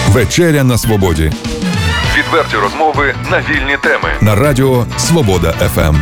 Вечеря на свободі. Відверті розмови на вільні теми. На радіо Свобода ФМ.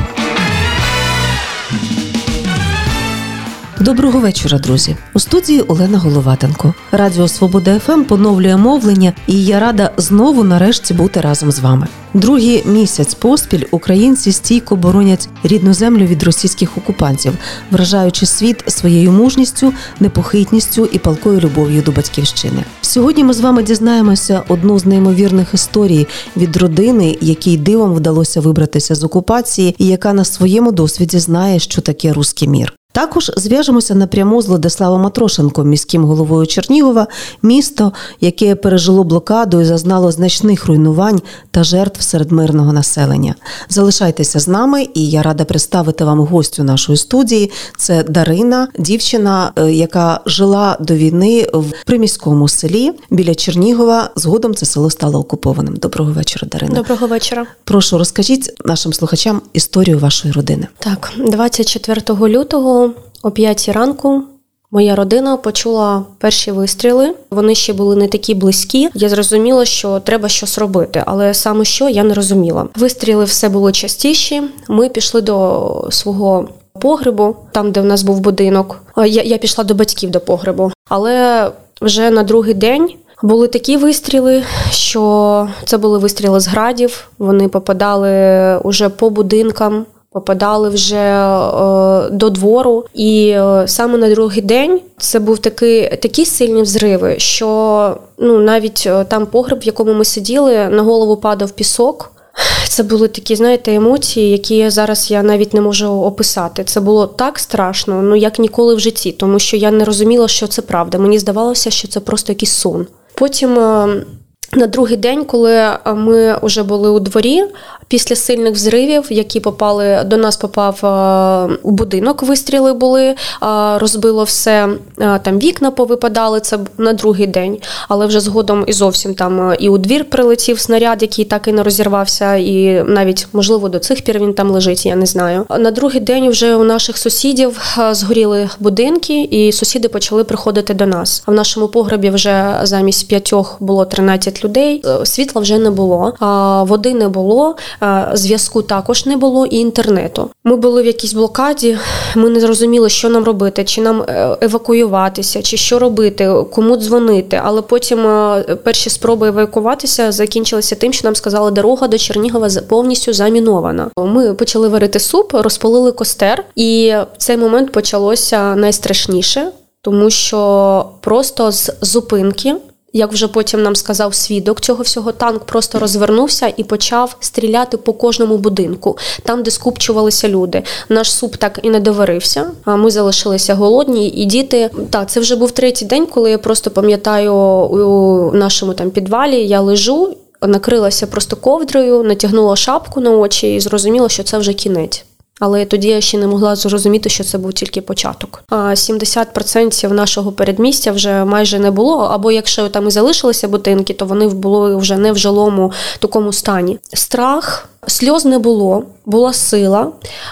Доброго вечора, друзі. У студії Олена Головатенко. Радіо Свобода ФМ поновлює мовлення, і я рада знову нарешті бути разом з вами. Другий місяць поспіль українці стійко боронять рідну землю від російських окупантів, вражаючи світ своєю мужністю, непохитністю і палкою любов'ю до батьківщини. Сьогодні ми з вами дізнаємося одну з неймовірних історій від родини, якій дивом вдалося вибратися з окупації і яка на своєму досвіді знає, що таке руський мір. Також зв'яжемося напряму з Владиславом Атрошенком, міським головою Чернігова, місто, яке пережило блокаду і зазнало значних руйнувань та жертв серед мирного населення. Залишайтеся з нами, і я рада представити вам гостю нашої студії. Це Дарина, дівчина, яка жила до війни в приміському селі біля Чернігова. Згодом це село стало окупованим. Доброго вечора, Дарина. Доброго вечора. Прошу, розкажіть нашим слухачам історію вашої родини. Так, 24 лютого о 5 ранку моя родина почула перші вистріли. Вони ще були не такі близькі. Я зрозуміла, що треба щось робити, але саме що, я не розуміла. Вистріли все було частіші. Ми пішли до свого погребу, там, де в нас був будинок. Я пішла до батьків до погребу. Але вже на другий день були такі вистріли, що це були вистріли з градів. Вони попадали уже по будинкам, попадали вже до двору. І саме на другий день це був такі сильні взриви, що навіть там погреб, в якому ми сиділи, на голову падав пісок. Це були такі, знаєте, емоції, які зараз я навіть не можу описати. Це було так страшно, як ніколи в житті, тому що я не розуміла, що це правда. Мені здавалося, що це просто якийсь сон. Потім на другий день, коли ми вже були у дворі, після сильних взривів, які до нас попав у будинок, вистріли були, розбило все, там вікна повипадали, це на другий день, але вже згодом і зовсім там і у двір прилетів снаряд, який так і не розірвався, і навіть, можливо, до цих пір він там лежить, я не знаю. На другий день вже у наших сусідів згоріли будинки, і сусіди почали приходити до нас. А в нашому погребі вже замість 5 було 13 людей, світла вже не було, води не було, зв'язку також не було і інтернету. Ми були в якійсь блокаді, ми не зрозуміли, що нам робити, чи нам евакуюватися, чи що робити, кому дзвонити. Але потім перші спроби евакуюватися закінчилися тим, що нам сказали, дорога до Чернігова повністю замінована. Ми почали варити суп, розпалили костер, і в цей момент почалося найстрашніше, тому що просто з зупинки, як вже потім нам сказав свідок цього всього, танк просто розвернувся і почав стріляти по кожному будинку, там, де скупчувалися люди. Наш суп так і не доварився, а ми залишилися голодні, і діти... Так, це вже був третій день, коли я просто пам'ятаю, у нашому там підвалі я лежу, накрилася просто ковдрою, натягнула шапку на очі і зрозуміла, що це вже кінець. Але тоді я ще не могла зрозуміти, що це був тільки початок. 70% нашого передмістя вже майже не було, або якщо там і залишилися будинки, то вони були вже не в жилому такому стані. Страх, сльоз не було, була сила.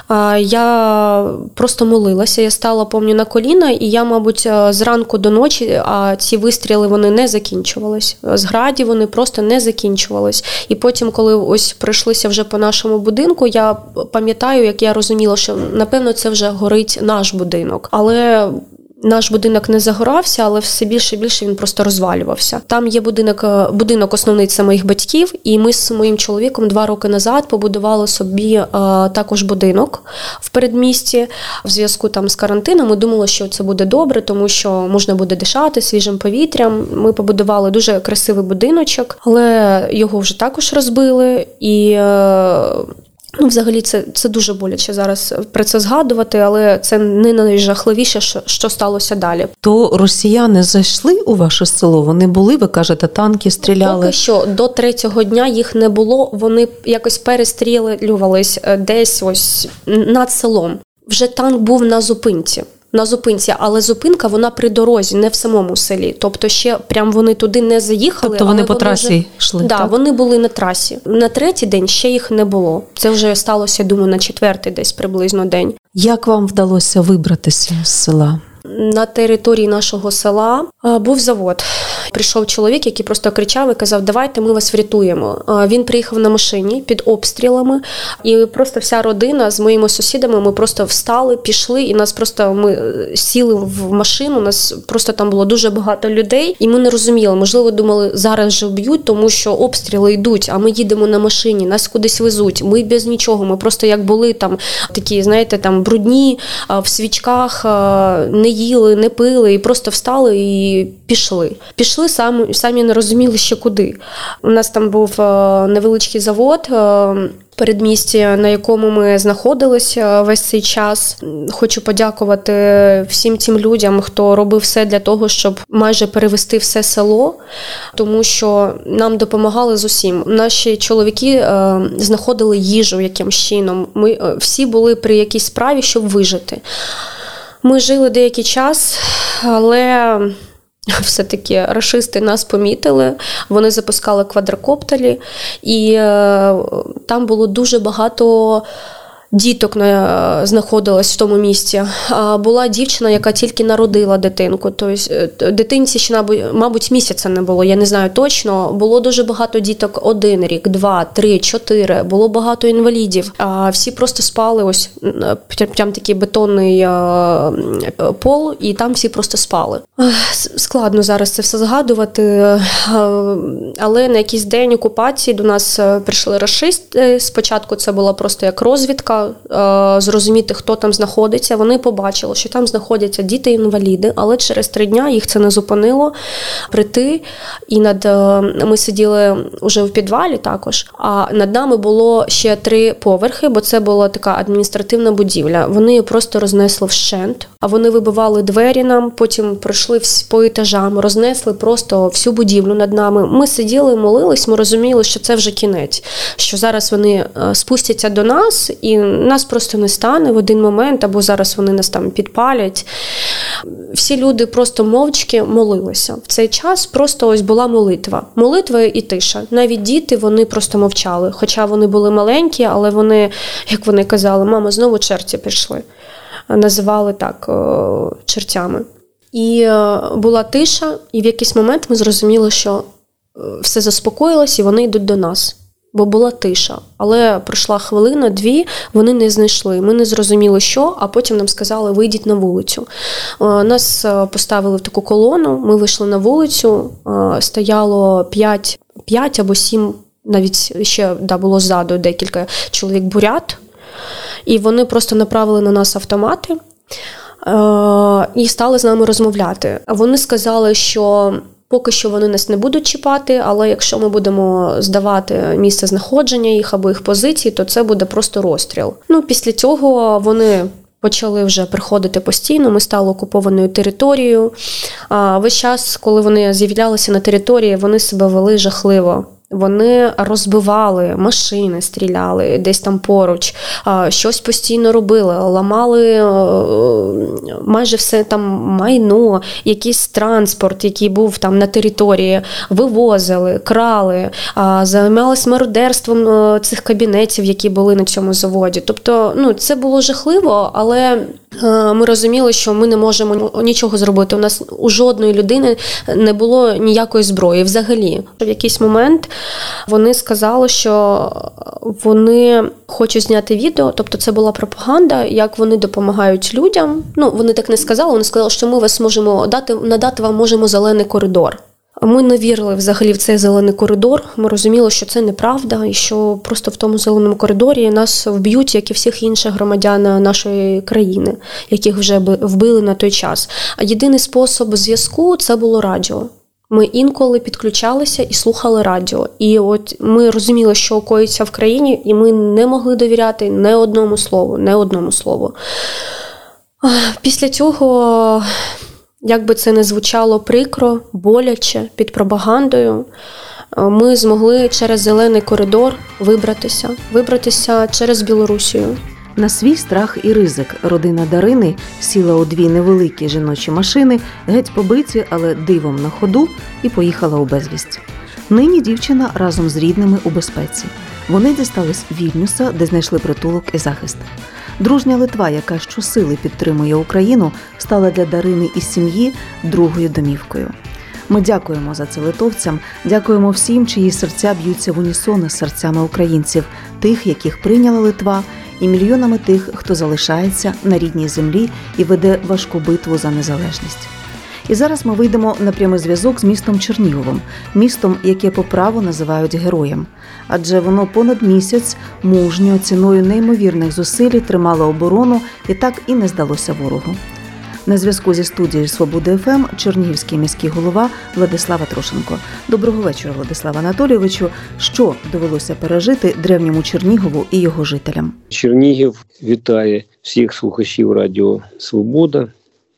Я просто молилася, я стала, пам'ятаю, на коліна, і я, мабуть, зранку до ночі, а ці вистріли, вони не закінчувались. З градів вони просто не закінчувались. І потім, коли ось пройшлися вже по нашому будинку, я пам'ятаю, як я розуміла, що, напевно, це вже горить наш будинок. Але наш будинок не загорався, але все більше і більше він просто розвалювався. Там є будинок основний, це моїх батьків, і ми з моїм чоловіком 2 роки назад побудували собі також будинок в передмісті. В зв'язку там з карантином ми думали, що це буде добре, тому що можна буде дишати свіжим повітрям. Ми побудували дуже красивий будиночок, але його вже також розбили, і взагалі, це дуже боляче зараз про це згадувати, але це не найжахливіше, що сталося далі. То росіяни зайшли у ваше село? Вони були, ви кажете, танки стріляли? Поки що, до 3-го дня їх не було, вони якось перестрілювались десь ось над селом. Вже танк був на зупинці, але зупинка, вона при дорозі, не в самому селі. Тобто ще прям вони туди не заїхали. Тобто вони по трасі йшли? Да, так, вони були на трасі. На 3-й день ще їх не було. Це вже сталося, думаю, на 4-й десь приблизно день. Як вам вдалося вибратися з села? На території нашого села був завод. прийшов чоловік, який просто кричав і казав: давайте ми вас врятуємо. Він приїхав на машині під обстрілами, і просто вся родина з моїми сусідами, ми просто встали, пішли, і нас просто, ми сіли в машину, нас просто там було дуже багато людей, і ми не розуміли, можливо, думали, зараз же вб'ють, тому що обстріли йдуть, а ми їдемо на машині, нас кудись везуть, ми без нічого, ми просто як були там такі, знаєте, там брудні, в свічках, не їли, не пили, і просто встали і пішли. Пішли самі не розуміли ще куди. У нас там був невеличкий завод, передмісті, на якому ми знаходилися весь цей час. Хочу подякувати всім тим людям, хто робив все для того, щоб майже перевести все село, тому що нам допомагали з усім. Наші чоловіки знаходили їжу якимсь чином. Ми всі були при якійсь справі, щоб вижити. Ми жили деякий час, але все-таки рашисти нас помітили, вони запускали квадрокоптери, і там було дуже багато діток знаходилось в тому місці. Була дівчина, яка тільки народила дитинку. Тобто дитинці ще, мабуть, місяця не було, я не знаю точно. Було дуже багато діток 1 рік, 2, 3, 4. Було багато інвалідів. Всі просто спали, ось прям такий бетонний пол, і там всі просто спали. Складно зараз це все згадувати, але на якийсь день окупації до нас прийшли рашисти. Спочатку це була просто як розвідка, зрозуміти, хто там знаходиться. Вони побачили, що там знаходяться діти-інваліди, але через 3 дня їх це не зупинило прийти. І ми сиділи вже в підвалі також, а над нами було ще 3 поверхи, бо це була така адміністративна будівля. Вони її просто рознесли вщент, а вони вибивали двері нам, потім пройшли по етажам, рознесли просто всю будівлю над нами. Ми сиділи, молились, ми розуміли, що це вже кінець, що зараз вони спустяться до нас і нас просто не стане в один момент, або зараз вони нас там підпалять. Всі люди просто мовчки молилися. В цей час просто ось була молитва. Молитва і тиша. Навіть діти, вони просто мовчали. Хоча вони були маленькі, але вони, як вони казали, мама, знову черті пішли. Називали так чертями. І була тиша, і в якийсь момент ми зрозуміли, що все заспокоїлось, і вони йдуть до нас. Бо була тиша. Але пройшла хвилина, 2, вони не знайшли. Ми не зрозуміли, що, а потім нам сказали, вийдіть на вулицю. Нас поставили в таку колону, ми вийшли на вулицю, стояло 5 або 7, навіть ще було ззаду декілька чоловік бурят, і вони просто направили на нас автомати і стали з нами розмовляти. Вони сказали, що поки що вони нас не будуть чіпати, але якщо ми будемо здавати місце знаходження їх або їх позиції, то це буде просто розстріл. Після цього вони почали вже приходити постійно, ми стали окупованою територією. Весь час, коли вони з'являлися на території, вони себе вели жахливо. Вони розбивали машини, стріляли десь там поруч, щось постійно робили, ламали майже все там майно, якийсь транспорт, який був там на території, вивозили, крали, займалися мародерством цих кабінетів, які були на цьому заводі. Тобто, це було жахливо, але ми розуміли, що ми не можемо нічого зробити. У нас у жодної людини не було ніякої зброї взагалі. В якийсь момент вони сказали, що вони хочуть зняти відео, тобто це була пропаганда, як вони допомагають людям. Вони так не сказали, вони сказали, що ми вас можемо надати вам можемо зелений коридор. Ми не вірили взагалі в цей зелений коридор, ми розуміли, що це неправда, і що просто в тому зеленому коридорі нас вб'ють, як і всіх інших громадян нашої країни, яких вже вбили на той час. А єдиний спосіб зв'язку – це було радіо. Ми інколи підключалися і слухали радіо. І от ми розуміли, що коїться в країні, і ми не могли довіряти ні одному слову. Після цього, як би це не звучало прикро, боляче, під пропагандою, ми змогли через зелений коридор вибратися через Білорусію. На свій страх і ризик родина Дарини сіла у 2 невеликі жіночі машини, геть побиті, але дивом на ходу, і поїхала у безвість. Нині дівчина разом з рідними у безпеці. Вони дістались Вільнюса, де знайшли притулок і захист. Дружня Литва, яка щосили підтримує Україну, стала для Дарини і сім'ї другою домівкою. Ми дякуємо за це литовцям, дякуємо всім, чиї серця б'ються в унісон з серцями українців, тих, яких прийняла Литва, і мільйонами тих, хто залишається на рідній землі і веде важку битву за незалежність. І зараз ми вийдемо на прямий зв'язок з містом Черніговом, містом, яке по праву називають героєм. Адже воно понад місяць мужньо, ціною неймовірних зусиль тримало оборону і так і не здалося ворогу. На зв'язку зі студією «Свобода ФМ» чернігівський міський голова Владислав Атрошенко. Доброго вечора, Владислав Анатолійовичу. Що довелося пережити древньому Чернігову і його жителям? Чернігів вітає всіх слухачів Радіо Свобода.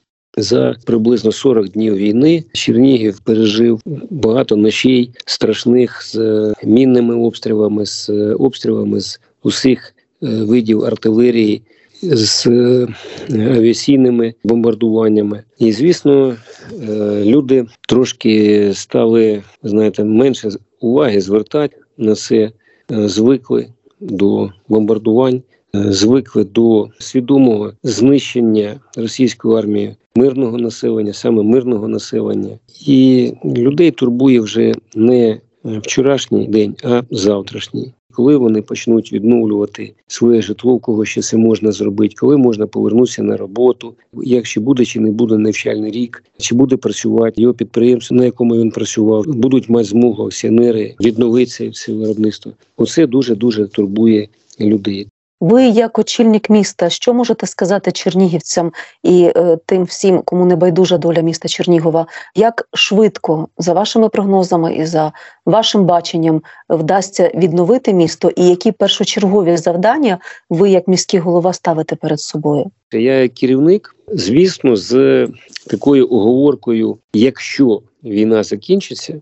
За приблизно 40 днів війни Чернігів пережив багато ночей страшних з мінними обстрілами, з обстрілами з усіх видів артилерії, з авіаційними бомбардуваннями. І, звісно, люди трошки стали, менше уваги звертати на це, звикли до бомбардувань, звикли до свідомого знищення російської армії мирного населення, саме мирного населення. І людей турбує вже не вчорашній день, а завтрашній. Коли вони почнуть відновлювати своє житло, у кого ще це можна зробити, коли можна повернутися на роботу, якщо буде чи не буде навчальний рік, чи буде працювати його підприємство, на якому він працював, будуть мати змогу акціонери відновити це виробництво. Оце дуже-дуже турбує людей. Ви, як очільник міста, що можете сказати чернігівцям і тим всім, кому не байдужа доля міста Чернігова? Як швидко, за вашими прогнозами і за вашим баченням, вдасться відновити місто? І які першочергові завдання ви, як міський голова, ставите перед собою? Я, як керівник, звісно, з такою оговоркою, якщо війна закінчиться,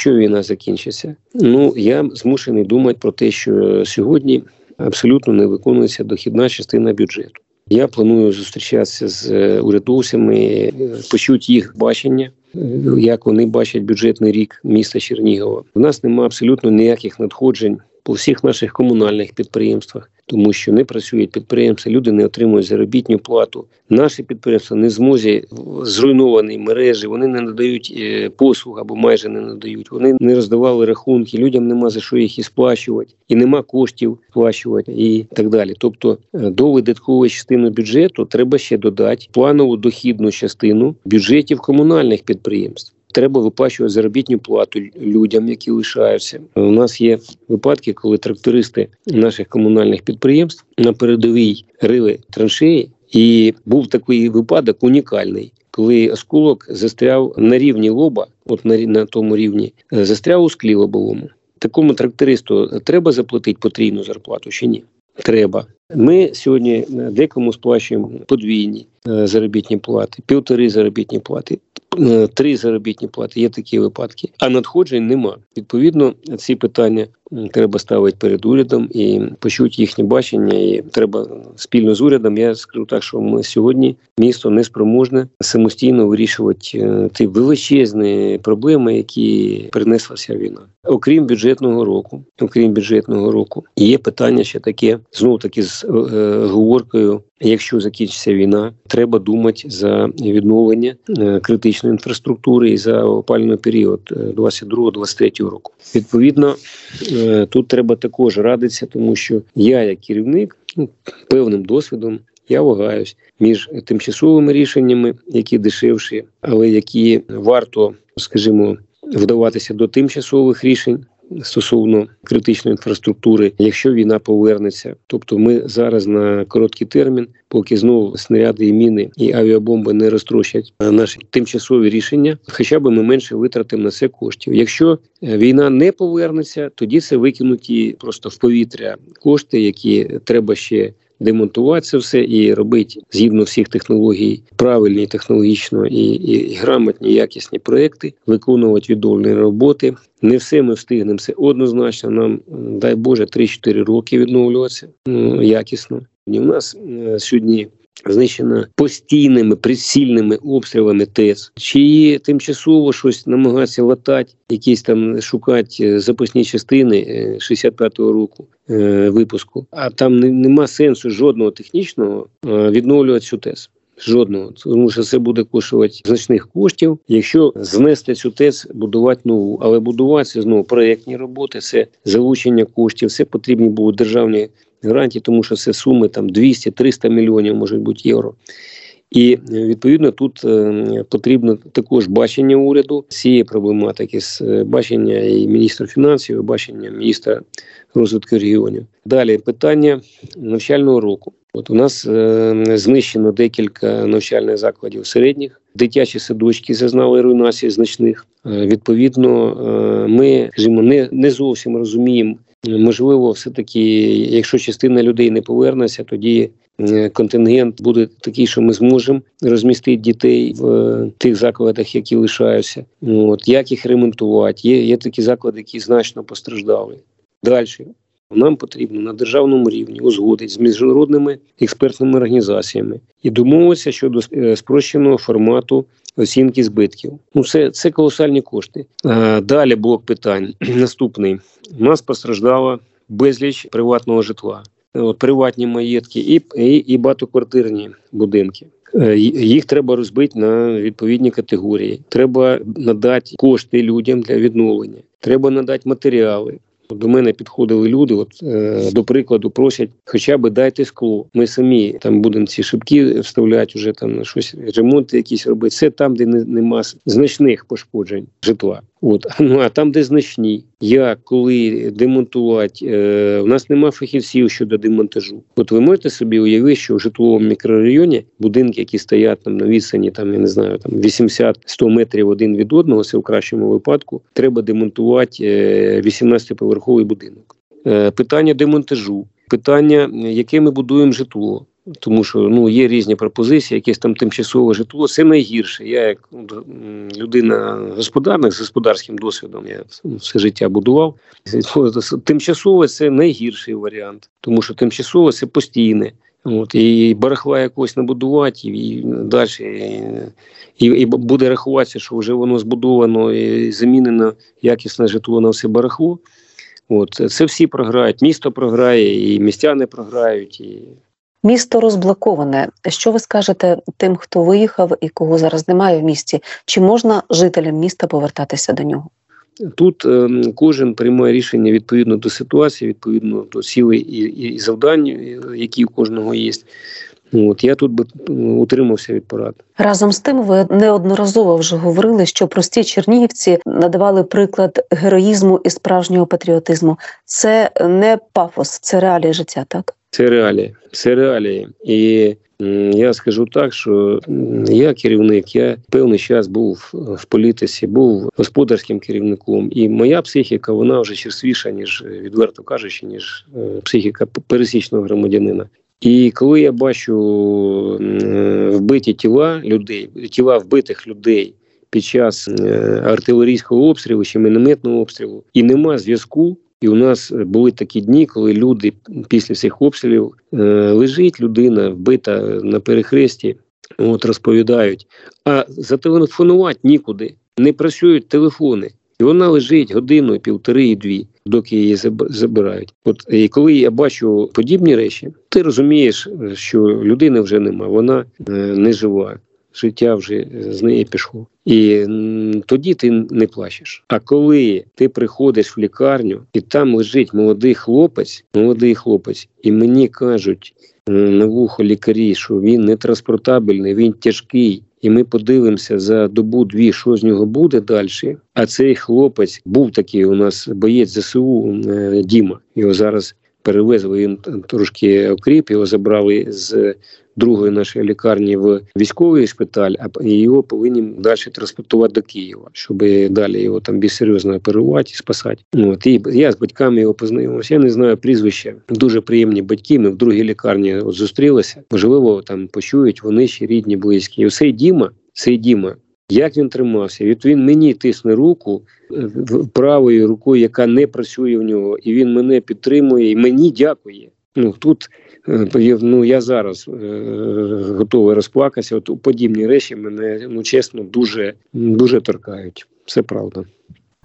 я змушений думати про те, що сьогодні абсолютно не виконується дохідна частина бюджету. Я планую зустрічатися з урядовцями, почути їх бачення, як вони бачать бюджетний рік міста Чернігова. У нас немає абсолютно ніяких надходжень по всіх наших комунальних підприємствах, тому що не працюють підприємства, люди не отримують заробітну плату. Наші підприємства не в змозі, зруйновані мережі, вони не надають послуг або майже не надають. Вони не роздавали рахунки, людям нема за що їх і сплачувати, і нема коштів сплачувати і так далі. Тобто до видаткової частини бюджету треба ще додати планову дохідну частину бюджетів комунальних підприємств. Треба виплачувати заробітну плату людям, які лишаються. У нас є випадки, коли трактористи наших комунальних підприємств на передовій рили траншеї, і був такий випадок унікальний, коли осколок застряв на рівні лоба, на тому рівні, застряв у склі лобовому. Такому трактористу треба заплатити потрійну зарплату чи ні? Треба. Ми сьогодні декому сплачуємо подвійні заробітні плати, 1,5 заробітні плати, 3 заробітні плати, є такі випадки, а надходжень нема. Відповідно, ці питання треба ставити перед урядом і почути їхнє бачення, і треба спільно з урядом. Я скажу так, що ми сьогодні місто не спроможне самостійно вирішувати ті величезні проблеми, які принесла ця війна. Окрім бюджетного року, є питання ще таке, знову таки з говоркою, якщо закінчиться війна, треба думати за відновлення критичної інфраструктури і за опалювальний період 22-23 року. Відповідно, тут треба також радитися, тому що я, як керівник, певним досвідом, я вагаюсь між тимчасовими рішеннями, які дешевші, але які варто, скажімо, вдаватися до тимчасових рішень стосовно критичної інфраструктури, якщо війна повернеться. Тобто ми зараз на короткий термін, поки знову снаряди і міни і авіабомби не розтрощать наші тимчасові рішення, хоча б ми менше витратимо на це коштів. Якщо війна не повернеться, тоді це викинуті просто в повітря кошти, які треба ще демонтувати це все і робити згідно всіх технологій, правильні технологічно і грамотні, якісні проекти, виконувати відновлені роботи. Не все ми встигнемо, це однозначно. Нам, дай Боже, 3-4 роки відновлюватися якісно. І в нас сьогодні знищена постійними, прицільними обстрілами ТЕЦ. Чи тимчасово щось намагатися латати, якісь там шукати запасні частини 65-го року випуску. А там нема сенсу жодного технічного відновлювати цю ТЕЦ. Жодного. Тому що це буде коштувати значних коштів, якщо знести цю ТЕЦ, будувати нову. Але будувати це знову проєктні роботи, це залучення коштів, це потрібні будуть державні гарантії, тому що це суми там 200-300 мільйонів, може бути, євро. І, відповідно, тут потрібно також бачення уряду цієї проблематики, бачення і міністра фінансів, і бачення міністра розвитку регіонів. Далі, питання навчального року. От у нас знищено декілька навчальних закладів середніх, дитячі садочки зазнали руйнації значних. Відповідно, ми, скажімо, не зовсім розуміємо, можливо, все-таки, якщо частина людей не повернеться, тоді контингент буде такий, що ми зможемо розмістити дітей в тих закладах, які лишаються. От, як їх ремонтувати? Є такі заклади, які значно постраждали. Далі. Нам потрібно на державному рівні узгодити з міжнародними експертними організаціями і домовитися щодо спрощеного формату оцінки збитків. Це колосальні кошти. Далі блок питань. Наступний. У нас постраждало безліч приватного житла. Приватні маєтки і багатоквартирні будинки. Їх треба розбити на відповідні категорії. Треба надати кошти людям для відновлення. Треба надати матеріали. До мене підходили люди, до прикладу, просять, хоча б дайте скло. Ми самі там будемо ці шибки вставляти, вже там щось, ремонти якісь робити. Це там, де нема значних пошкоджень житла. А там, де значні, як, коли демонтувати, у нас нема фахівців щодо демонтажу. Ви можете собі уявити, що в житловому мікрорайоні будинки, які стоять там на відстані, там, я не знаю, там 80-100 метрів один від одного, це в кращому випадку, треба демонтувати 18-поверховий будинок. Питання демонтажу, питання, яке ми будуємо житло. Тому що є різні пропозиції, якесь там тимчасове житло. Це найгірше. Я як людина господарник з господарським досвідом, я все життя будував. Тимчасове – це найгірший варіант. Тому що тимчасове – це постійне. І барахла якось набудувати, і далі. І буде рахуватися, що вже воно збудовано і замінено якісне житло на все барахло. Це всі програють. Місто програє, і містяни програють, і... Місто розблоковане. Що ви скажете тим, хто виїхав і кого зараз немає в місті? Чи можна жителям міста повертатися до нього? Тут кожен приймає рішення відповідно до ситуації, відповідно до цілей і завдань, які у кожного є. Я тут би утримався від порад. Разом з тим, ви неодноразово вже говорили, що прості чернігівці надавали приклад героїзму і справжнього патріотизму. Це не пафос, це реалії життя, так? Це реалії. І я скажу так, що я керівник, я певний час був в політиці, був господарським керівником. І моя психіка, вона вже черствіша, ніж, відверто кажучи, ніж психіка пересічного громадянина. І коли я бачу вбиті тіла людей, тіла вбитих людей під час артилерійського обстрілу чи мінометного обстрілу, і нема зв'язку, і у нас були такі дні, коли люди після цих обстрілів лежить людина вбита на перехресті, розповідають, а зателефонувати нікуди, не працюють телефони. І вона лежить годину, півтори і дві, доки її забирають. І коли я бачу подібні речі, ти розумієш, що людини вже нема, вона не жива. Життя вже з неї пішло. І тоді ти не плачеш. А коли ти приходиш в лікарню, і там лежить молодий хлопець, і мені кажуть на вухо лікарі, що він не транспортабельний, він тяжкий, і ми подивимося за добу-дві, що з нього буде далі. А цей хлопець був такий у нас боєць ЗСУ Діма. Його зараз перевезли, він трошки окріп, його забрали з другої нашої лікарні в військовий шпиталь, а його повинні далі транспортувати до Києва, щоб далі його там більш серйозно оперувати і спасати. І я з батьками його познайомився, я не знаю прізвища, дуже приємні батьки, ми в другій лікарні зустрілися, можливо, там почують вони ще рідні, близькі. І цей Діма, як він тримався, він мені тисне руку правою рукою, яка не працює в нього, і він мене підтримує, і мені дякує. Тут я зараз готовий розплакатися. Подібні речі мене, чесно, дуже, дуже торкають. Це правда.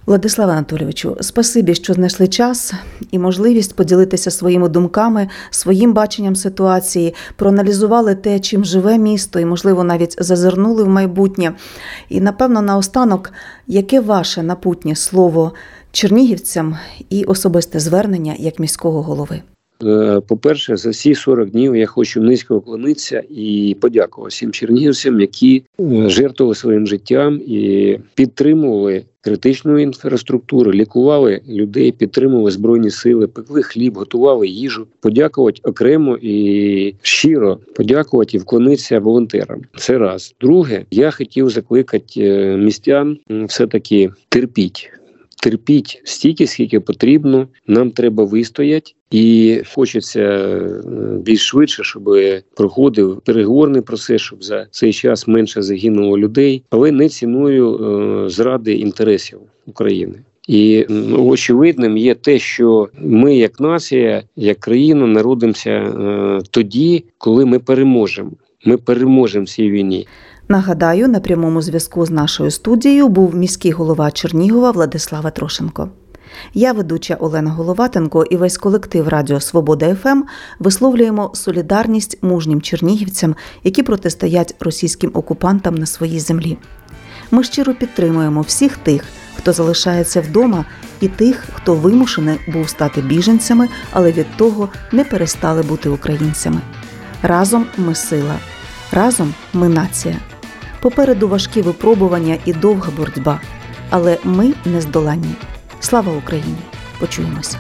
Владиславе Анатолійовичу, спасибі, що знайшли час і можливість поділитися своїми думками, своїм баченням ситуації, проаналізували те, чим живе місто і, можливо, навіть зазирнули в майбутнє. І, напевно, наостанок, яке ваше напутнє слово чернігівцям і особисте звернення як міського голови? По-перше, за всі 40 днів я хочу низько вклонитися і подякувати всім чернігівцям, які жертвували своїм життям і підтримували критичну інфраструктуру, лікували людей, підтримували Збройні сили, пекли хліб, готували їжу. Подякувати окремо і щиро подякувати і вклонитися волонтерам. Це раз. Друге, я хотів закликати містян все-таки терпіть стільки, скільки потрібно. Нам треба вистояти. І хочеться більш швидше, щоб проходив переговорний процес, щоб за цей час менше загинуло людей, але не ціною зради інтересів України. І очевидним є те, що ми як нація, як країна народимося тоді, коли ми переможемо. Ми переможемо в цій війні. Нагадаю, на прямому зв'язку з нашою студією був міський голова Чернігова Владислав Трошенко. Я, ведуча Олена Головатенко, і весь колектив Радіо Свобода ФМ висловлюємо солідарність мужнім чернігівцям, які протистоять російським окупантам на своїй землі. Ми щиро підтримуємо всіх тих, хто залишається вдома, і тих, хто вимушений був стати біженцями, але від того не перестали бути українцями. Разом ми сила. Разом ми нація. Попереду важкі випробування і довга боротьба. Але ми нездоланні. Слава Україні! Почуємося.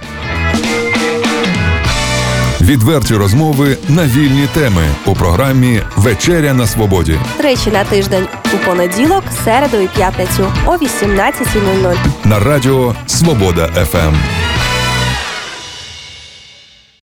Відверті розмови на вільні теми у програмі «Вечеря на свободі». Тричі на тиждень у понеділок, середу і п'ятницю о 18:00. На радіо «Свобода ФМ».